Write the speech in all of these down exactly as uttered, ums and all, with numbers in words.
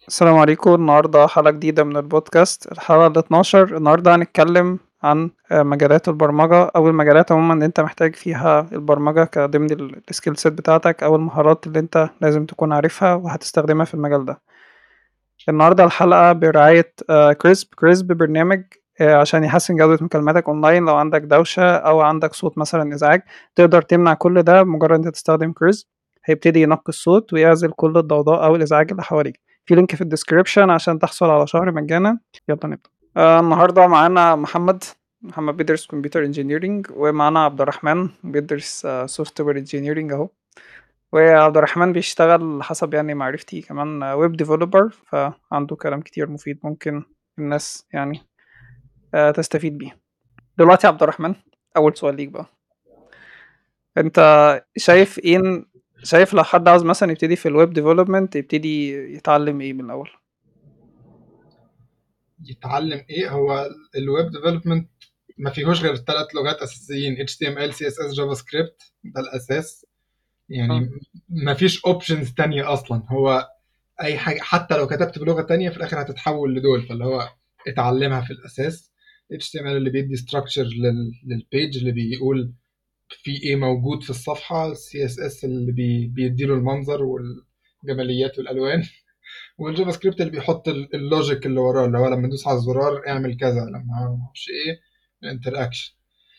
السلام عليكم. النهاردة حلقة جديدة من البودكاست، الحلقة ال اتناشر. النهاردة هنتكلم عن آه، مجالات البرمجة أو المجالات عموما اللي أنت محتاج فيها البرمجة كضمن السكيل سيت بتاعتك أو المهارات اللي أنت لازم تكون عارفها وهتستخدمها في المجال ده. النهاردة الحلقة برعاية آه، كريسب كريسب برنامج آه، عشان يحسن جودة مكالماتك أونلاين. لو عندك دوشة أو عندك صوت مثلا إزعاج، تقدر تمنع كل ده بمجرد أنت تستخدم كريسب. هيبتدي ينقي الصوت ويعزل كل الضوضاء أو الإزعاج اللي حواليك. في لينك في الديسكريبشن عشان تحصل على شهر مجانا. يلا نبدأ. آه النهاردة معانا محمد محمد بيدرس كمبيوتر انجينيرينج، ومعانا عبد الرحمن بيدرس سوفت وير انجينيرينج اهو. وعبد الرحمن بيشتغل حسب يعني معرفتي كمان ويب ديفلوبر، فعنده كلام كتير مفيد ممكن الناس يعني آه، تستفيد بيه. دلوقتي يا عبد الرحمن، أول سؤال ليك بقى. أنت شايف إيه؟ شايف لو حد عاوز مثلا يبتدي في الويب ديفلوبمنت يبتدي يتعلم إيه من الأول؟ يتعلم ايه؟ هو الويب ديفلوبمنت ما فيهوش غير ثلاث لغات اساسيين: اتش تي ام ال سي اس اس جافا سكريبت. ده الاساس اه. يعني. ما فيش اوبشنز تانية اصلا. هو اي حاجه حتى لو كتبت بلغه تانية في الاخر هتتحول لدول، فاللي هو اتعلمها في الاساس. اتش تي ام ال اللي بيدي ستراكشر للبيج، اللي بيقول في ايه موجود في الصفحه. سي اس اس اللي بي بيديله المنظر والجماليات والالوان. والجافا سكريبت اللي بيحط ال- اللوجيك اللي وراه، اللي هو لما ندوس على الزرار اعمل كذا، لما ما اعرفش ايه الانتراكشن.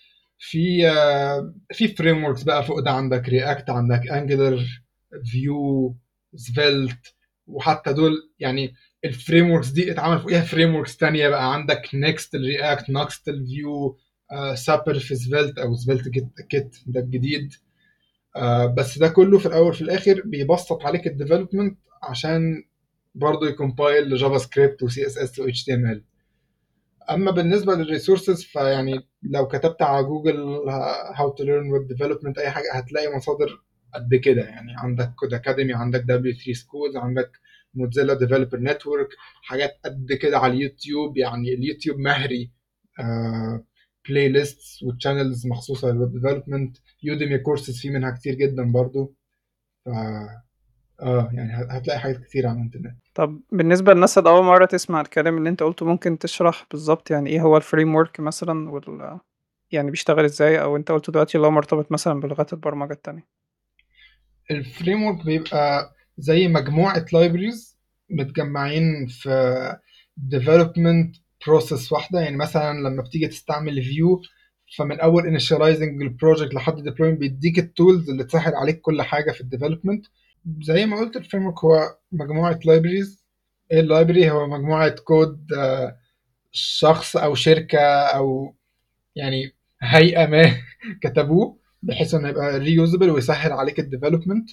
في آه، في فريم وركس بقى فوق ده. عندك رياكت، عندك انجلر، فيو، سفيلت، وحتى دول يعني الفريم وركس دي اتعمل فوقيها فريم وركس تانية بقى. عندك نيكست الرياكت، نكست الفيو، سابر في سفيلت او سفيلت كيت كيت ده الجديد. آه، بس ده كله في الاول في الاخر بيبسط عليك الديفلوبمنت عشان برضه يكمبايل لجافا سكريبت وسي اس اس و اتش تي ام ال. اما بالنسبه للريسورسز، فيعني لو كتبت على جوجل هاو تو ليرن ويب ديفلوبمنت اي حاجه هتلاقي مصادر قد كده. يعني عندك كود اكاديمي، عندك دبليو ثري سكولز، عندك موزيلا ديفلوبر نتورك، حاجات قد كده على اليوتيوب. يعني اليوتيوب مهري آه بلاي ليستس وتشانلز مخصوصه للويب ديفلوبمنت. يوديمي كورسز فيه منها كتير جدا برضو. ف اه يعني هتلاقي حاجات كتير على الانترنت. طب بالنسبة للناس اللي أول مرة تسمع الكلام اللي أنت قلته، ممكن تشرح بالظبط يعني إيه هو الفريم ورك مثلا، وال يعني بيشتغل إزاي؟ أو أنت قلت دلوقتي اللي هو مرتبط مثلا بلغات البرمجة التانية. الفريم ورك بيبقى زي مجموعة libraries متجمعين في development process واحدة. يعني مثلا لما بتيجي تستعمل view، فمن أول initializing البروجكت لحد deploying بيديك التولز اللي تسهل عليك كل حاجة في الديفلوبمنت. زي ما قلت الفريم ورك هو مجموعة libraries. ايه اللايبرري؟ هو مجموعة كود آه، شخص أو شركة أو يعني هيئة ما كتبوه بحيث انه يبقى reusable ويسهل عليك الديفلوبمنت.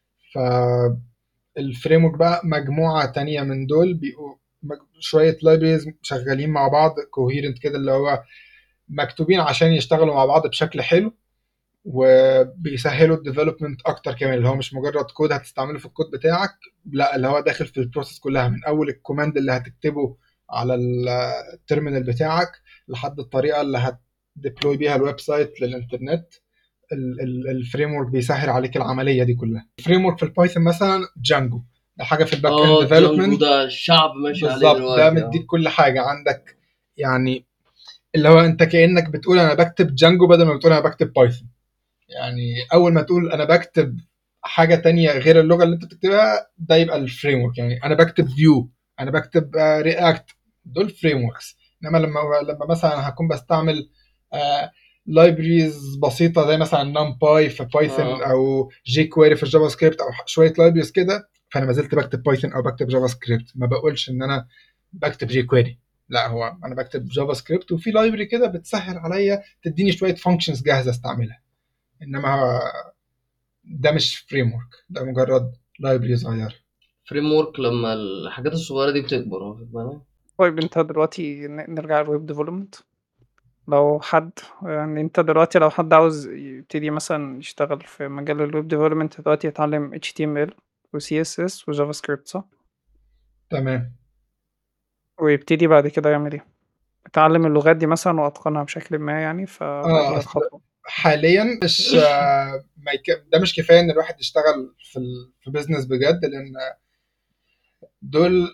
فالفريم ورك بقى مجموعة تانية من دول بيبقوا مج- شوية لايبريز شغالين مع بعض كوهيرنت كده، اللي هو مكتوبين عشان يشتغلوا مع بعض بشكل حلو، وبيسهلوا الديفلوبمنت اكتر كمان. اللي هو مش مجرد كود هتستعمله في الكود بتاعك، لا، اللي هو داخل في البروسيس كلها من اول الكوماند اللي هتكتبه على التيرمينال بتاعك لحد الطريقة اللي هتديبلوي بيها الويب سايت للانترنت. الفريم ورك بيسهل عليك العمليه دي كلها. الفريم ورك في البايثون مثلا جانجو، ده حاجه في الباك اند اه، جانجو ديفلوبمنت. ده الشعب ماشي عليه بالظبط، ده دلوقتي. مديك اه كل حاجه عندك. يعني اللي هو انت كانك بتقول انا بكتب جانجو بدل ما بتقول انا بكتب بايثون. يعني اول ما تقول انا بكتب حاجه تانية غير اللغه اللي انت بتكتبها، ده يبقى الفريم ورك. يعني انا بكتب فيو، انا بكتب رياكت، دول فريم وركس. انما لما لما مثلا هكون بستعمل لايبريز بسيطه زي مثلا نمباي في بايثون اه او جي كويري في الجافا سكريبت او شويه لايبريز كده، فانا ما زلت بكتب بايثون او بكتب جافا سكريبت. ما بقولش ان انا بكتب جي كويري، لا، هو انا بكتب جافا سكريبت وفي لايبرري كده بتسهل عليا تديني شويه فانكشنز جاهزه استعملها. انما ده مش فريم ورك، ده مجرد لايبرري صغيره. فريم ورك لما الحاجات الصغيره دي بتكبر، واخد بالك؟ طيب أنت دلوقتي ن- نرجع للويب ديفلوبمنت. لو حد يعني انت دلوقتي لو حد عاوز يبتدي مثلا يشتغل في مجال الويب ديفلوبمنت دلوقتي، يتعلم اتش تي ام ال و سي اس اس و جافا سكريبت، صح؟ تمام. ويبتدي بعد كده يعمل ايه؟ يتعلم اللغات دي مثلا واتقنها بشكل ما يعني، اه فبعديها اصل الخطوة. حاليا مش آه، ما يك... ده مش كفايه ان الواحد يشتغل في ال... في بيزنس بجد، لان دول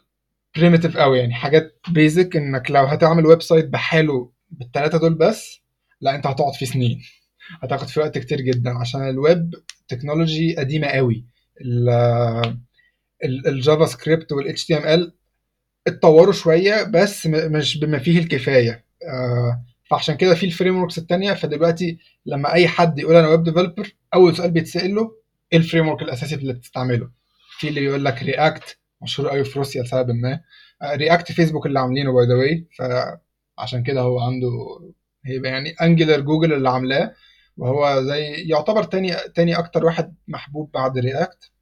بريميتيف قوي، يعني حاجات بيزك، انك لو هتعمل ويب سايت بحاله بالثلاثه دول بس، لا انت هتقعد فيه سنين، هتاخد فيه وقت كتير جدا، عشان الويب تكنولوجي قديمه قوي. ال- ال- الجافا سكريبت والاتش تي ام ال اتطوروا شويه بس م- مش بما فيه الكفايه. آه، فعشان كده في الفريم وركس الثانيه. فدلوقتي لما اي حد يقول انا ويب ديفلوبر، اول سؤال بيتسال له ايه الفريم ورك الاساسي اللي بتستعمله. في اللي يقول لك رياكت، مشهور قوي في روسيا لسبب ما. رياكت فيسبوك اللي عاملينه باي ذا واي، فعشان كده هو عنده، هيبقى يعني انجلر جوجل اللي عاملاه، وهو زي يعتبر تاني تاني اكتر واحد محبوب بعد رياكت.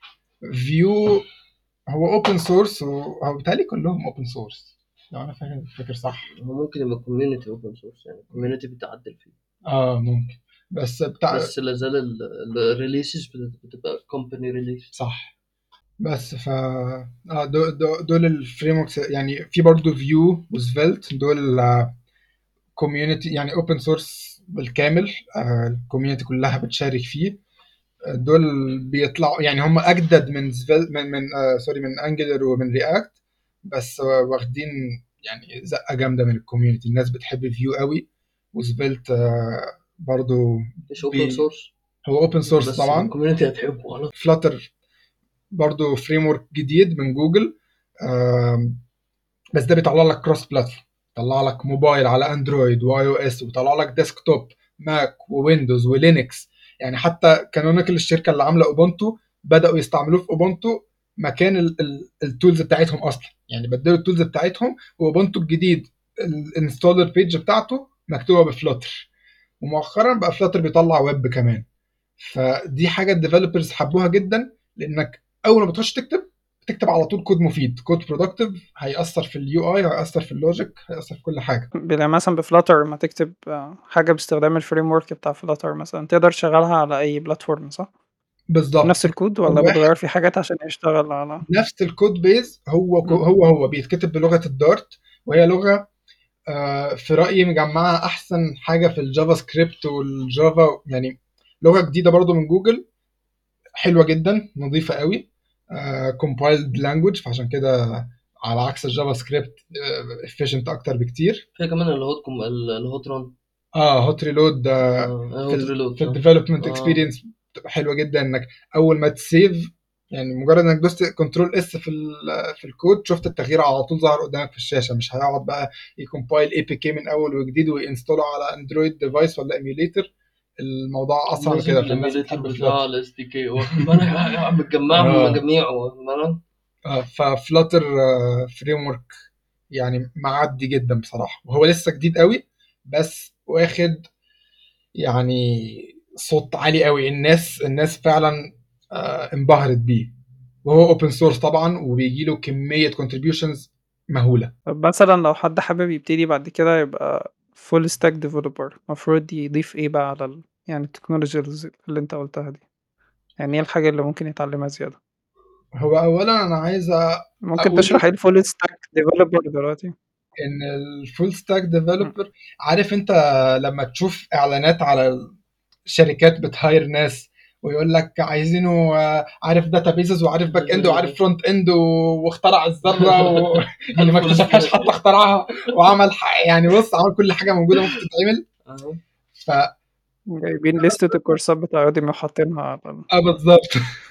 فيو هو اوبن سورس، وهو بيتهيألي كلهم اوبن سورس لو انا فاكر فاكر صح. هو ممكن يبقى كوميونتي اوبن سورس، يعني كوميونتي بتعدل فيه، اه ممكن، بس بتاع بس لازال الريليسز بتبقى كومباني ريليس. صح. بس ف اه دول, دول الفريم وركس، يعني في برضه فيو وسفيلت، دول كوميونتي يعني اوبن سورس بالكامل، الكوميونتي كلها بتشارك فيه. آه، دول بيطلعوا يعني هم اجدد من سفيل من من آه سوري من انجلر ومن رياكت، بس آه، واخدين يعني زقه جامده من الكوميونتي. الناس بتحب فيو قوي، وسفيلت آه برضو مش اوبن بي سورس، هو اوبن سورس بس طبعا. الكوميونتي هتحبه خلاص. فلاتر برضو فريم ورك جديد من جوجل، آم، بس ده بيطلع لك كروس بلاتفورم، بيطلع لك موبايل على اندرويد واي او اس، وبيطلع لك ديسكتوب ماك وويندوز ولينكس. يعني حتى كانونيكال الشركه اللي عامله اوبونتو بداوا يستعملوه في اوبونتو مكان التولز بتاعتهم اصلا، يعني بدلوا التولز بتاعتهم، واوبونتو الجديد الانستولر بيج بتاعته مكتوبه بفلاتر، ومؤخرا بقى فلاتر بيطلع ويب كمان. فدي حاجه الديفلوبرز حبوها جدا، لانك اول ما بتخش تكتب تكتب على طول كود مفيد، كود برودكتيف، هيأثر في اليو اي، هيأثر في اللوجيك، هيأثر في كل حاجه. بلا مثلا بفلاتر ما تكتب آه، حاجة باستخدام الفريم ورك بتاع فلاتر مثلا تقدر تشغلها على أي بلاتفورم صح؟ بالظبط، نفس في الكود كود ولا واحد بتغير فيه حاجات عشان يشتغل على نفس الكود بيز، هو كو- مم. هو هو بيتكتب بلغه الدارت، وهي لغه آه، في رأيي مجمعه احسن حاجه في الجافا سكريبت والجافا، يعني لغه جديده برضو من جوجل، حلوه جدا، نظيفه قوي، كومبايلد لانجوج، فعشان كده على عكس الجافا سكريبت افيشنت اكتر بكتير. فيها كمان الهوت كوم الهوت ران. اه هوت ريلود اه في هوت ال ريلود في اه. الديفلوبمنت اه اكسبيرينس بتبقى حلوه جدا، انك اول ما تسيف، يعني مجرد انك دوست كنترول اس في ال- في الكود، شفت التغيير على طول ظهر قدامك في الشاشه، مش هيقعد بقى يكمبايل اي بي كي من اول وجديد وينستول على اندرويد ديفايس ولا ايميوليتر. الموضوع اسرع من نزل كده، فالناس الايميليتر بتحب بتاع فلاتر. الاس دي كي، واخد بالك مجمعهم اه مجاميعه، واخد بالك. آه، ففلاتر فريم ورك يعني معدي جدا بصراحه، وهو لسه جديد قوي، بس واخد يعني صوت عالي قوي، الناس الناس فعلا آه، انبهرت بيه، وهو اوبن سورس طبعا، وبيجي له كميه كونتريبيوشنز مهوله. طب مثلا لو حد حابب يبتدي بعد كده يبقى فول ستاك ديفلوبر المفروض يضيف ايه بقى على ال... يعني التكنولوجيز اللي انت قلتها دي، يعني ايه الحاجة اللي ممكن يتعلمها زيادة؟ هو اولا انا عايز ممكن اقول تشرح ايه الفول ستاك ديفلوبر دلوقتي؟ ان الفول ستاك مم. ديفلوبر، عارف انت لما تشوف اعلانات على شركات بتهاير ناس، ويقول لك عايزينه آه، عارف داتابيزز، وعارف باك اند، وعارف فرونت اند، واخترع الذره و... اللي ما الفول اكتشفهاش ستاك. حتى اخترعها، وعمل ح... يعني بص عمل كل حاجه موجوده ممكن تتعمل. اه ف جايبين لستة الكورسات بتاع يوديمي وحاطينها على ال... اه بالظبط.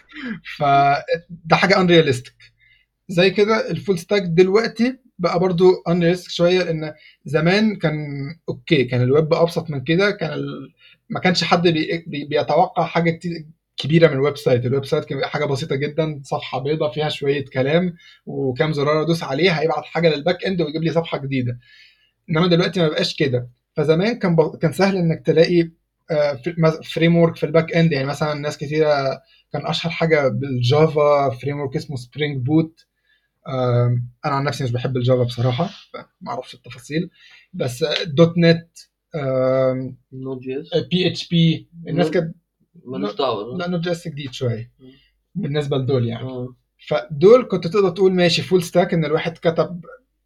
فده حاجه انرياليستيك. زي كده الفول ستاك دلوقتي بقى برضو انرياليستيك شويه، لان زمان كان اوكي، كان الويب ابسط من كده، كان ال... ما كانش حد بي... بي... بيتوقع حاجه كتير كبيره من الويب سايت. الويب سايت كان بيبقى حاجه بسيطه جدا، صفحه بيضاء فيها شويه كلام وكام زرار ادوس عليه هيبعت حاجه للباك اند ويجيب لي صفحه جديده. انما دلوقتي ما بقاش كده. فزمان كان ب... كان سهل انك تلاقي فريم ورك في الباك اند، يعني مثلا ناس كتيره كان اشهر حاجه بالجافا فريم ورك اسمه سبرينج بوت. آم، انا عن نفسي مش بحب الجافا بصراحه، فما اعرفش التفاصيل، بس آه، دوت نت، نوت جي اس. بي اتش بي، الناس كانت ملوش دعوه ده. لا نوت جي اس جديد شويه بالنسبه لدول يعني. اه فدول كنت تقدر تقول ماشي فول ستاك، ان الواحد كتب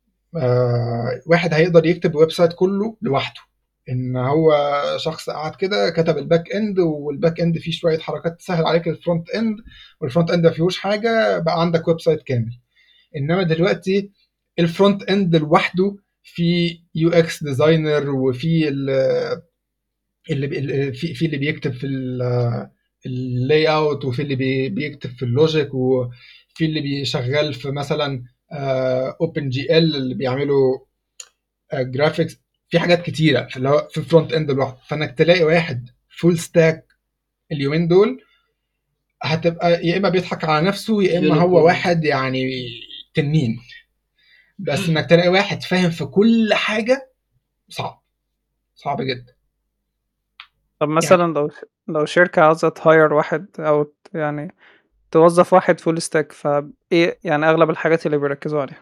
آه، واحد هيقدر يكتب ويب سايت كله لوحده، ان هو شخص قعد كده كتب الباك اند، والباك اند فيه شويه حركات تسهل عليك الفرونت اند، والفرونت اند ما فيهوش حاجه، بقى عندك ويب سايت كامل. انما دلوقتي الفرونت اند لوحده في يو اكس ديزاينر، وفي ال- اللي بي- اللي- في في اللي بيكتب في اللاي اوت، وفي اللي بي- بيكتب في اللوجيك، وفي اللي بيشغل في مثلا اوبن جي ال اللي بيعملوا جرافيكس. في حاجات كتيره في اللي هو في فرونت اند لوحده. فانك تلاقي واحد فول ستاك اليومين دول هتبقى يا اما بيضحك على نفسه، يا اما هو يونيكورن. واحد يعني تنين. بس انك تلاقي واحد فاهم في كل حاجه صعب، صعب جدا طب يعني. مثلا لو لو شركة عاوزة تهاير واحد أو ت- يعني توظف واحد فول ستاك، فايه يعني أغلب الحاجات اللي بيركزوا عليها؟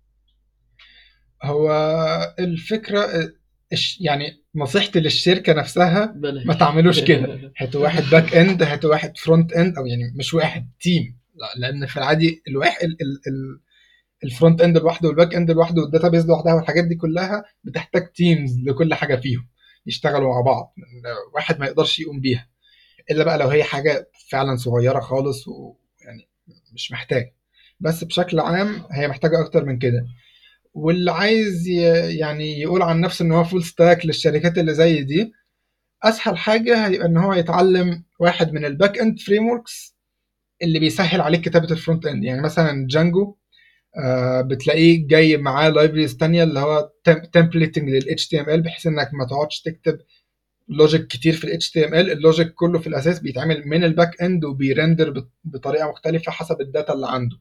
هو الفكره الش- يعني نصيحتي للشركه نفسها ما بلاش. تعملوش كده. هاتوا واحد باك اند، هاتوا واحد فرونت اند، او يعني مش واحد تيم. لا، لان في العادي الواحد ال- ال- ال- الفرونت اند لوحده، والباك اند لوحده، والداتابيز لوحدها، والحاجات دي كلها بتحتاج تيمز لكل حاجه فيهم يشتغلوا مع بعض. واحد ما يقدرش يقوم بيها، الا بقى لو هي حاجه فعلا صغيره خالص ويعني مش محتاج. بس بشكل عام هي محتاجه اكتر من كده. واللي عايز ي- يعني يقول عن نفسه ان هو فول ستاك للشركات اللي زي دي، اسهل حاجه هيبقى ان هو يتعلم واحد من الباك اند فريم وركس اللي بيسهل عليك كتابه الفرونت اند. يعني مثلا جانجو، آه بتلاقيه جاي معاه لايبريز تانية اللي هو تمبليتنج لل إتش تي إم إل، بحيث انك ما تقعدش تكتب لوجيك كتير في ال إتش تي إم إل. اللوجيك كله في الاساس بيتعمل من الباك اند وبيرندر بط- بطريقه مختلفه حسب الداتا اللي عنده.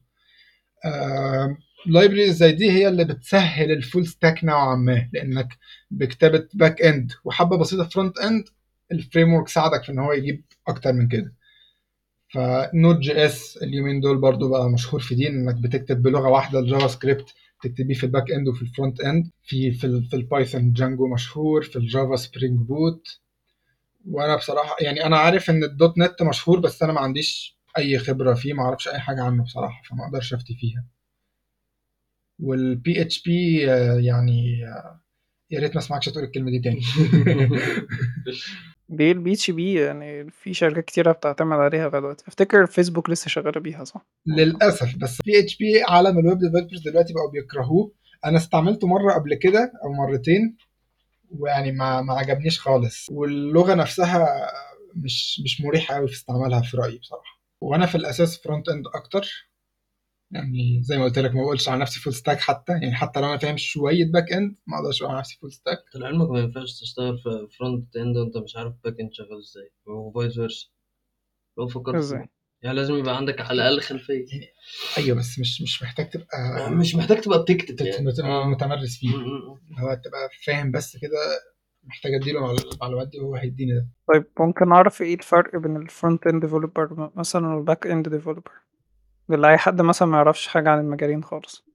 لايبريز زي دي هي اللي بتسهل الفول ستاك نوعا ما، لانك بكتابه باك اند وحبه بسيطه فرونت اند، الفريم ورك ساعدك في ان هو يجيب اكتر من كده. فنود جي اس اليومين دول برضو بقى مشهور في دي، انك بتكتب بلغه واحده الجافا سكريبت تكتبيه في الباك اند وفي الفرونت اند. في في, ال- في البايثون جانجو مشهور، في الجافا سبرينج بوت. وانا بصراحه يعني انا عارف ان الدوت نت مشهور، بس انا ما عنديش اي خبره فيه، ما اعرفش اي حاجه عنه بصراحه، فما اقدرش افتي فيها. والبي اتش بي يعني آه، يا ريت ما اسمعكش تقول الكلمه دي تاني. دي البي اتش بي يعني في شركات كتيرة بتعتمد عليها لغاية دلوقتي. افتكر فيسبوك لسه شغالة بيها، صح؟ للاسف. بس بي اتش بي عالم الويب ديفلوبرز دلوقتي بقوا بيكرهوه. انا استعملته مره قبل كده او مرتين، ويعني ما ما عجبنيش خالص. واللغه نفسها مش مش مريحه قوي في استعمالها في رايي بصراحه. وانا في الاساس فرونت اند اكتر. يعني زي ما قلت لك ما بقولش على نفسي فول ستاك حتى، يعني حتى لو انا فاهم شويه باك اند ما اقدرش اقول على نفسي فول ستاك. لعلمك ما ينفعش تشتغل في فرونت اند وانت مش عارف باك اند شغال ازاي، وفايس فيرسا لو فكرت ازاي؟ فيه. يعني لازم يبقى عندك على الاقل خلفيه. يعني ايوه، بس مش مش محتاج تبقى مش محتاج تبقى بتكتب تت- يعني. مت- اه. متمرس فيه. م- م- م. اللي هو تبقى فاهم بس كده. محتاج اديله مع- المعلومات دي وهو هيديني ده. طيب ممكن أعرف ايه الفرق بين الفرونت اند ديفلوبر مثلا والباك اند ديفلوبر، لأي أي حد مثلا ما يعرفش حاجة عن المجالين خالص؟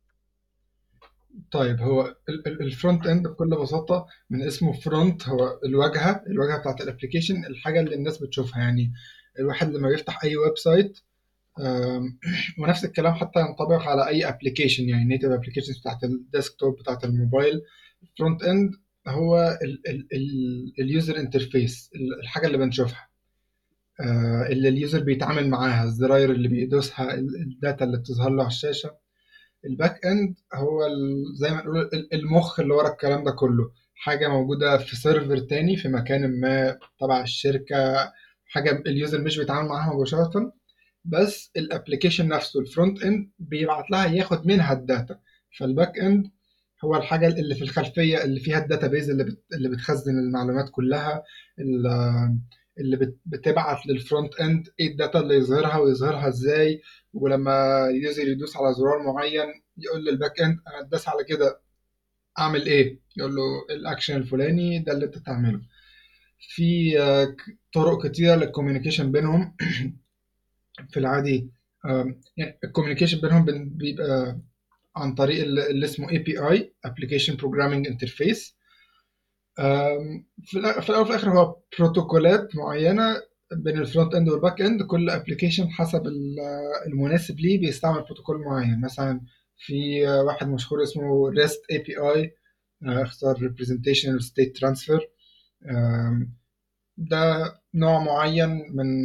طيب هو الفرونت اند بكل بساطه من اسمه فرونت، هو الواجهه الواجهه بتاعت الابلكيشن، الحاجه اللي الناس بتشوفها. يعني الواحد لما بيفتح اي ويب سايت، آم، ونفس الكلام حتى ينطبق على اي ابلكيشن، يعني نيتف ابلكيشنز بتاعت الديسكتوب بتاعت الموبايل. الفرونت اند هو اليوزر انترفيس، الحاجه اللي بنشوفها، آه، اللي اليوزر بيتعامل معاها، الزراير اللي بيدوسها، ال- الداتا اللي بتظهر له على الشاشه. الباك اند هو ال- زي ما نقول ال- المخ اللي ورا الكلام ده كله، حاجه موجوده في سيرفر تاني في مكان ما تبع الشركه، حاجه اليوزر مش بيتعامل معاها مباشره. بس الابلكيشن نفسه الفرونت اند بيبعت لها ياخد منها الداتا. فالباك اند هو الحاجه اللي في الخلفيه اللي فيها الداتابيز اللي بت... اللي بتخزن المعلومات كلها، ال- اللي بت... بتبعت للفرونت اند ايه الداتا اللي يظهرها ويظهرها ازاي. ولما اليوزر يدوس على زرار معين يقول للباك اند انا اداس على كده اعمل ايه، يقول له الاكشن الفلاني ده اللي انت تعمله. في آه، ك- طرق كتيره للكوميونيكيشن بينهم. في العادي آم، يعني الكوميونيكيشن بينهم بن- بيبقى عن طريق ال- اللي اسمه اي بي اي Application Programming Interface. آم، في الأ- في الاول وفي الاخر هو بروتوكولات معينه بين الفرونت اند والباك اند. كل ابلكيشن حسب ال- المناسب ليه بيستعمل بروتوكول معين. مثلا في آه، واحد مشهور اسمه ريست اي بي اي، اختصار Representational State Transfer. آم، ده نوع معين من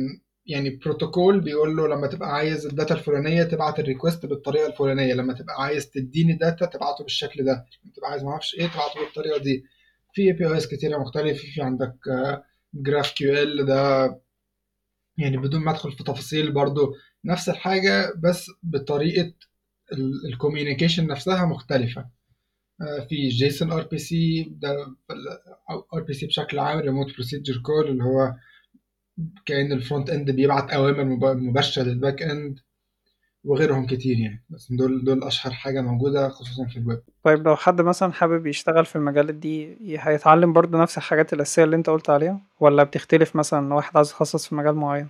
يعني بروتوكول بيقول له لما تبقى عايز الداتا الفلانيه تبعت الريكوست بالطريقه الفلانيه، لما تبقى عايز تديني داتا تبعته بالشكل ده، لما تبقى عايز ما اعرفش ايه تبعته بالطريقه دي. في اي بي ايز كتيره مختلفه، في عندك جراف كيو ال ده، يعني بدون ما ادخل في تفاصيل برضو نفس الحاجه بس بطريقه الكوميونيكيشن نفسها مختلفه. آه، في جيسون ار بي سي ده، او ار بي سي بشكل عام ريموت بروسيجر كول، اللي هو كأن الفرونت اند بيبعت اوامر مب- مباشره للباك اند، وغيرهم كتير يعني، بس دول دول اشهر حاجه موجوده خصوصا في الويب. طيب لو حد مثلا حابب يشتغل في المجالات دي ي- هيتعلم برضو نفس الحاجات الأساسية اللي انت قلت عليها، ولا بتختلف مثلا لو واحد عايز يتخصص في مجال معين؟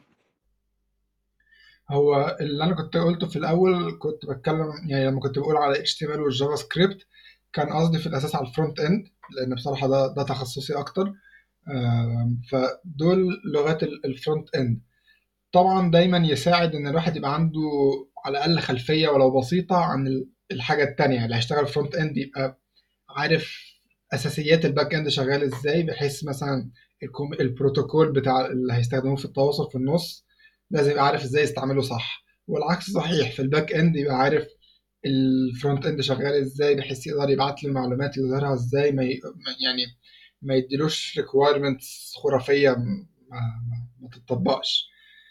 هو اللي انا كنت قلته في الاول كنت بتكلم يعني لما كنت بقول على اتش تي ام ال والجافا سكريبت، كان قصدي في الاساس على الفرونت اند، لان بصراحه ده ده تخصصي اكتر. آم، فدول لغات ال- الفرونت اند. طبعا دايما يساعد ان الواحد يبقى عنده على الاقل خلفيه ولو بسيطه عن ال- الحاجه التانية اللي هيشتغل فرونت اند، يبقى عارف اساسيات الباك اند شغال ازاي، بحيث مثلا الكم- البروتوكول بتاع اللي هيستخدموه في التواصل في النص لازم يبقى عارف ازاي يستعمله صح، والعكس صحيح في الباك اند يبقى عارف الفرونت اند شغال ازاي، بحيث يقدر يبعت له المعلومات يظهرها ازاي، ما ي... ما- يعني ما يديلوش requirements خرافية ما, ما, ما تتطبقش.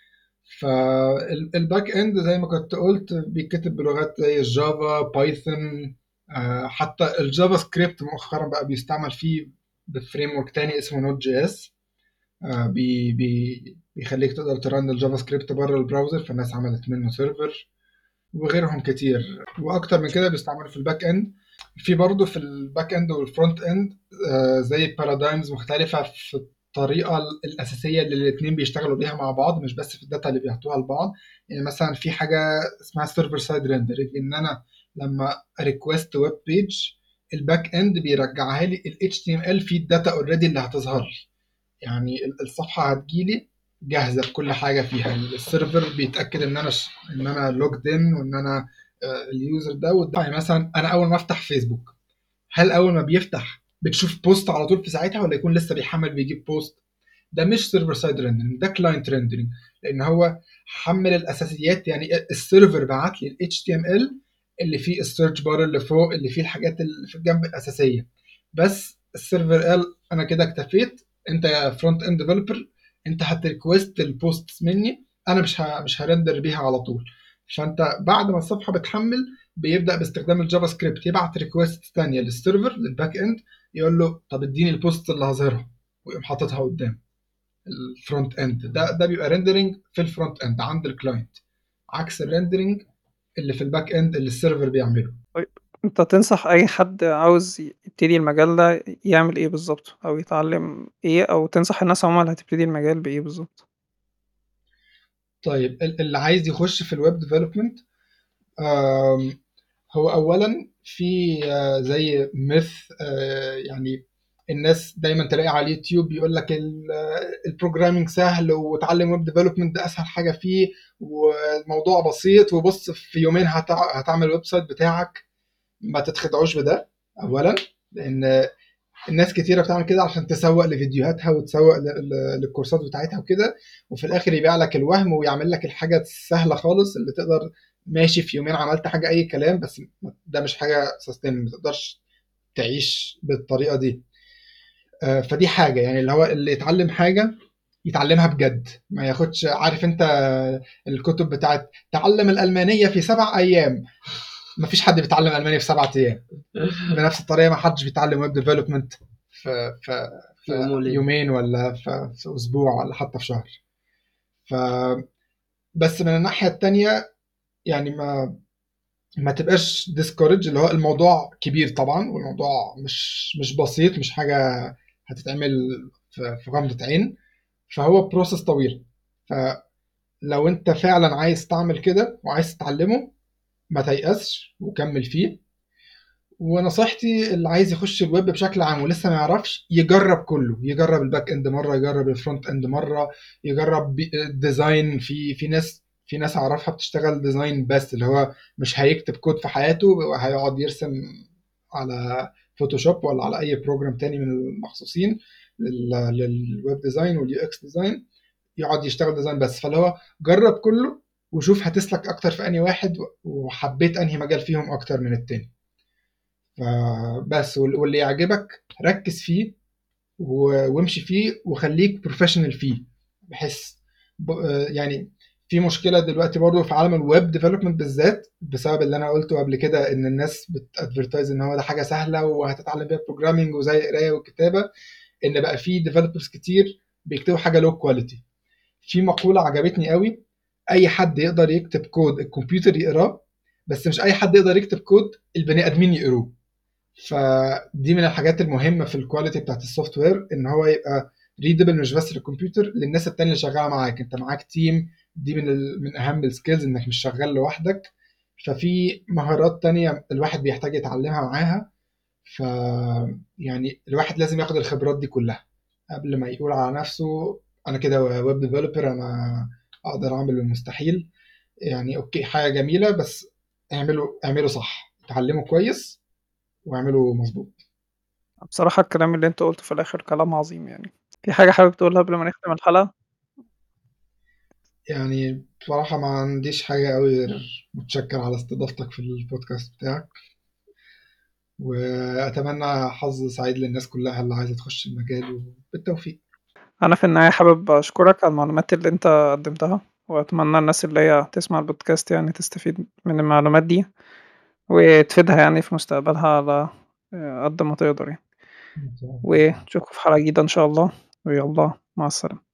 فالباك اند زي ما كنت قلت بيتكتب بلغات زي الجافا، بايثون، آه، حتى الجافا سكريبت مؤخرا بقى بيستعمل فيه بفريم ورك تاني اسمه نوت جي اس. آه، بي بي بيخليك تقدر ترن الجافا سكريبت بره البراوزر، فالناس عملت منه سيرفر، وغيرهم كتير. واكتر من كده بيستعملوا في الباك اند. في برضه في الباك اند والفرونت اند آه، زي بارادايمز مختلفة في الطريقة الأساسية اللي الاتنين بيشتغلوا بيها مع بعض، مش بس في الداتا اللي بيعطوها لبعض. يعني مثلا في حاجة اسمها سيرفر سايد ريندرنج، إن أنا لما ريكوست ويب بيج الباك اند بيرجعها لي ال اتش تي ام ال في الداتا اوريدي اللي هتظهر لي، يعني ال- الصفحة هتجيلي جاهزة بكل حاجة فيها. السيرفر بيتأكد ان انا ش... ان انا لوجد ان وان انا آه، اليوزر ده وده. يعني مثلا انا اول ما افتح فيسبوك، هل اول ما بيفتح بتشوف بوست على طول في ساعتها، ولا يكون لسه بيحمل بيجيب بوست؟ ده مش سيرفر سايد ريندرنج، ده كلاينت ريندرنج، لان هو حمل الاساسيات. يعني السيرفر بعت لي ال اتش تي ام ال اللي فيه السيرش بار اللي فوق، اللي فيه الحاجات اللي في الجنب الاساسيه، بس السيرفر قال انا كده اكتفيت، انت يا فرونت اند ديفلوبر انت هتريكوست البوست مني، انا مش ه... مش هرندر بيها على طول. فانت بعد ما الصفحه بتحمل بيبدا باستخدام الجافا سكريبت يبعت ريكوست ثانيه للسيرفر للباك اند، يقول له طب اديني البوست اللي هظهرها، ويقوم حاططها قدام الفرونت اند. ده ده بيبقى ريندرنج في الفرونت اند عند الكلاينت، عكس الريندرنج اللي في الباك اند اللي السيرفر بيعمله. طيب انت تنصح اي حد عاوز يبتدي المجال ده يعمل ايه بالظبط، او يتعلم ايه، او تنصح الناس عموما اللي هتبتدي المجال بايه بالظبط؟ طيب ال- اللي عايز يخش في الويب ديفلوبمنت، هو اولا في آه، زي ميث، يعني الناس دايما تلاقي على اليوتيوب بيقول لك البروجرامينج سهل وتعلم ويب ديفلوبمنت ده اسهل حاجه فيه والموضوع بسيط، وبص في يومين هتع- هتعمل ويب سايت بتاعك. ما تتخدعوش بده اولا، لان الناس كتيره بتعمل كده عشان تسوق لفيديوهاتها وتسوق ل- ل- للكورسات بتاعتها وكده، وفي الاخر يبيع لك الوهم ويعمل لك الحاجه السهله خالص اللي تقدر ماشي في يومين عملت حاجه اي كلام، بس ده مش حاجه سستين، ما تقدرش تعيش بالطريقه دي. آه، فدي حاجه، يعني اللي هو اللي يتعلم حاجه يتعلمها بجد، ما ياخدش عارف انت الكتب بتاعت تعلم الالمانيه في سبع ايام. ما فيش حد بيتعلم الماني في سبعة ايام. بنفس الطريقه ما حدش بيتعلم ويب ديفلوبمنت في في في في يوم وليلة. يومين ولا في, في اسبوع ولا حتى في شهر. ف بس من الناحيه التانية يعني ما ما تبقاش ديسكورج، اللي هو الموضوع كبير طبعا، والموضوع مش مش بسيط، مش حاجه هتتعمل في في غمضه عين، فهو بروسس طويل. فلو انت فعلا عايز تعمل كده وعايز تتعلمه ما تيأسش وكمل فيه. ونصيحتي اللي عايز يخش الويب بشكل عام ولسه ما يعرفش يجرب كله، يجرب الباك اند مره، يجرب الفرونت اند مره، يجرب الديزاين. في في ناس في ناس اعرفها بتشتغل ديزاين بس، اللي هو مش هيكتب كود في حياته، هيقعد يرسم على فوتوشوب ولا على اي بروجرام تاني من المخصوصين لل- للويب ديزاين واليو اكس ديزاين، يقعد يشتغل ديزاين بس. فاللي هو جرب كله وشوف هتسلك اكتر في انهي واحد وحبيت انهي مجال فيهم اكتر من التاني. فبس واللي يعجبك ركز فيه وامشي فيه وخليك بروفيشنال فيه. بحس يعني في مشكله دلوقتي برضو في عالم الويب ديفلوبمنت بالذات بسبب اللي انا قلته قبل كده، ان الناس بتادفرتايز ان هو ده حاجه سهله وهتتعلم بيها بروجرامنج وزي قرايه وكتابه، ان بقى في ديفلوبرز كتير بيكتبوا حاجه لو كواليتي. في مقوله عجبتني قوي، اي حد يقدر يكتب كود الكمبيوتر يقراه، بس مش اي حد يقدر يكتب كود البني ادمين يقروه. فدي من الحاجات المهمه في الكواليتي بتاعت السوفت وير، ان هو يبقى ريدبل مش بس للكمبيوتر، للناس التانية اللي شغاله معاك. انت معاك تيم، دي من ال... من اهم السكيلز انك مش شغال لوحدك. ففي مهارات تانية الواحد بيحتاج يتعلمها معاها. ف يعني الواحد لازم ياخد الخبرات دي كلها قبل ما يقول على نفسه انا كده ويب ديفلوبر، انا اقدر اعمل المستحيل. يعني اوكي حاجه جميله، بس اعملوا اعملوا صح، اتعلموا كويس واعملوا مظبوط. بصراحة الكلام اللي انت قلته في الآخر كلام عظيم يعني. في حاجة حابب تقولها قبل ما نختم الحلقة؟ يعني بصراحه ما عنديش حاجه قوي غير متشكر على استضافتك في البودكاست بتاعك، واتمنى حظ سعيد للناس كلها اللي عايزه تخش المجال، وبالتوفيق. أنا في النهاية حابب أشكرك على المعلومات اللي انت قدمتها، وأتمنى الناس اللي هي تسمع البودكاست يعني تستفيد من المعلومات دي وتفيدها يعني في مستقبلها على قد ما تقدر يعني. ونشوفكم في حلقة جديدة إن شاء الله، ويلا مع السلامة.